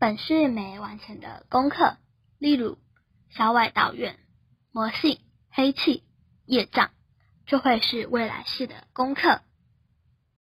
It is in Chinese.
本世没完成的功课，例如小外道院、魔性、黑气、业障，就会是未来世的功课。